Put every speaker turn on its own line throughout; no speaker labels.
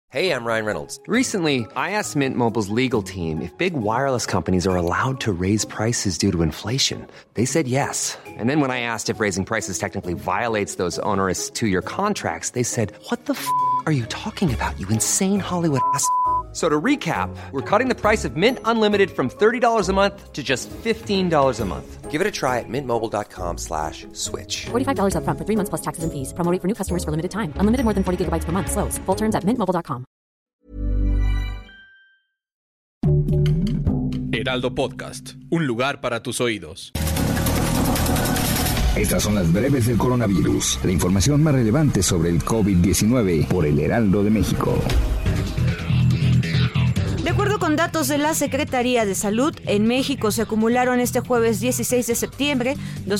Hey, I'm Ryan Reynolds.
Recently, I asked Mint Mobile's legal team if big wireless companies are allowed to raise prices due to inflation. They said yes. And then when I asked if raising prices technically violates those onerous two-year contracts, they said, "What the f*** are you talking about, you insane Hollywood ass?" So to recap, we're cutting the price of Mint Unlimited from $30 a month to just $15 a month.
Give it a try at mintmobile.com/switch.
$45 up front for 3 months plus taxes and fees. Promo rate for new customers for limited time. Unlimited more than 40 gigabytes per month. Slows full terms at mintmobile.com.
Heraldo Podcast, un lugar para tus oídos.
Estas son las breves del coronavirus, la información más relevante sobre el COVID-19 por el Heraldo de México.
De acuerdo con datos de la Secretaría de Salud, en México se acumularon este jueves 16 de septiembre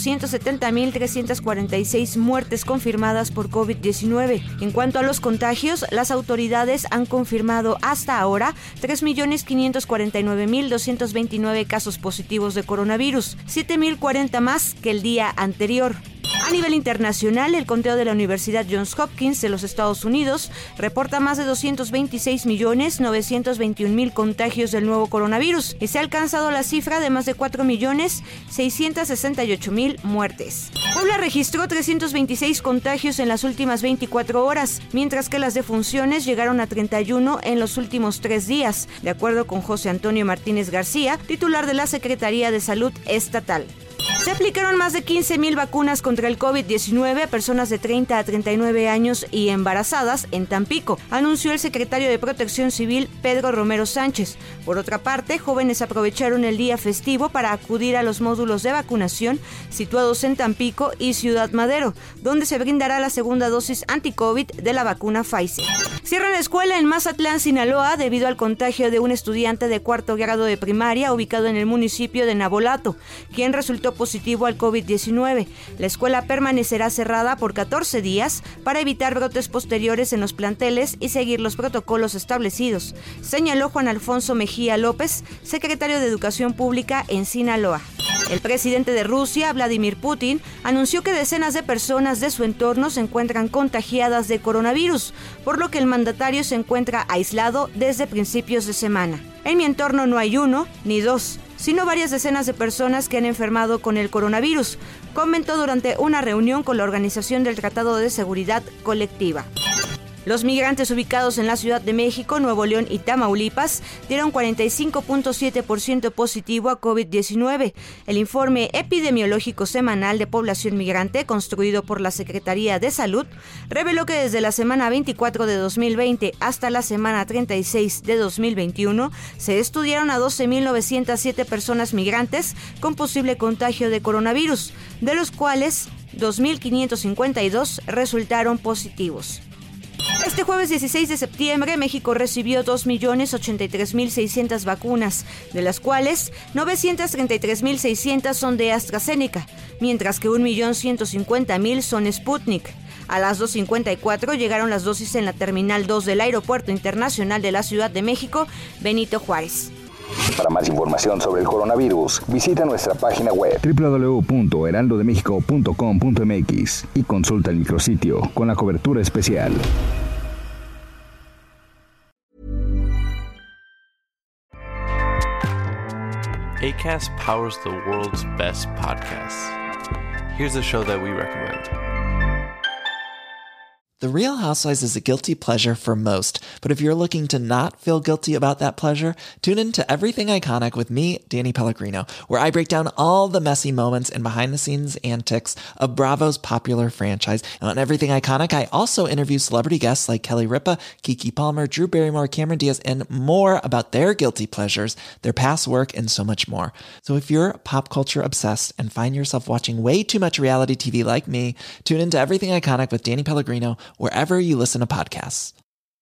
270,346 muertes confirmadas por COVID-19. En cuanto a los contagios, las autoridades han confirmado hasta ahora 3,549,229 casos positivos de coronavirus, 7,040 más que el día anterior. A nivel internacional, el conteo de la Universidad Johns Hopkins de los Estados Unidos reporta más de 226,921,000 contagios del nuevo coronavirus y se ha alcanzado la cifra de más de 4,668,000 muertes. Puebla registró 326 contagios en las últimas 24 horas, mientras que las defunciones llegaron a 31 en los últimos 3 días, de acuerdo con José Antonio Martínez García, titular de la Secretaría de Salud Estatal. Se aplicaron más de 15,000 vacunas contra el COVID-19 a personas de 30 a 39 años y embarazadas en Tampico, anunció el secretario de Protección Civil Pedro Romero Sánchez. Por otra parte, jóvenes aprovecharon el día festivo para acudir a los módulos de vacunación situados en Tampico y Ciudad Madero, donde se brindará la segunda dosis anti-COVID de la vacuna Pfizer. Cierran la escuela en Mazatlán, Sinaloa, debido al contagio de un estudiante de 4º grado de primaria ubicado en el municipio de Navolato, quien resultó positivo al COVID-19. La escuela permanecerá cerrada por 14 días para evitar brotes posteriores en los planteles y seguir los protocolos establecidos, señaló Juan Alfonso Mejía López, secretario de Educación Pública en Sinaloa. El presidente de Rusia, Vladimir Putin, anunció que decenas de personas de su entorno se encuentran contagiadas de coronavirus, por lo que el mandatario se encuentra aislado desde principios de semana. En mi entorno no hay uno ni dos, sino varias decenas de personas que han enfermado con el coronavirus, comentó durante una reunión con la Organización del Tratado de Seguridad Colectiva. Los migrantes ubicados en la Ciudad de México, Nuevo León y Tamaulipas dieron 45,7% positivo a COVID-19. El informe epidemiológico semanal de población migrante construido por la Secretaría de Salud reveló que desde la semana 24 de 2020 hasta la semana 36 de 2021 se estudiaron a 12,907 personas migrantes con posible contagio de coronavirus, de los cuales 2,552 resultaron positivos. Este jueves 16 de septiembre, México recibió 2,083,600 vacunas, de las cuales 933,600 son de AstraZeneca, mientras que 1,150,000 son Sputnik. A las 2:54 llegaron las dosis en la Terminal 2 del Aeropuerto Internacional de la Ciudad de México, Benito Juárez.
Para más información sobre el coronavirus, visita nuestra página web www.heraldodemexico.com.mx y consulta el micrositio con la cobertura especial.
Acast powers the world's best podcasts. Here's a show that we recommend.
The Real Housewives is a guilty pleasure for most, but if you're looking to not feel guilty about that pleasure, tune in to Everything Iconic with me, Danny Pellegrino, where I break down all the messy moments and behind-the-scenes antics of Bravo's popular franchise. And on Everything Iconic, I also interview celebrity guests like Kelly Ripa, Keke Palmer, Drew Barrymore, Cameron Diaz, and more about their guilty pleasures, their past work, and so much more. So if you're pop culture obsessed and find yourself watching way too much reality TV like me, tune in to Everything Iconic with Danny Pellegrino, wherever you listen to podcasts.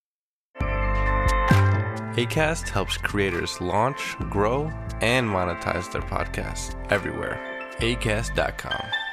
Acast helps creators launch, grow, and monetize their podcasts everywhere. Acast.com.